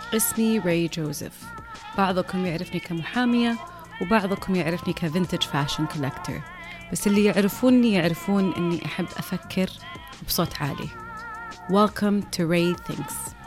اسمي راي جوزيف. بعضكم يعرفني كمحامية وبعضكم يعرفني كفينتج فاشن كولكتور، بس اللي يعرفوني يعرفون أني أحب أفكر بصوت عالي. Welcome to Ray Thinks.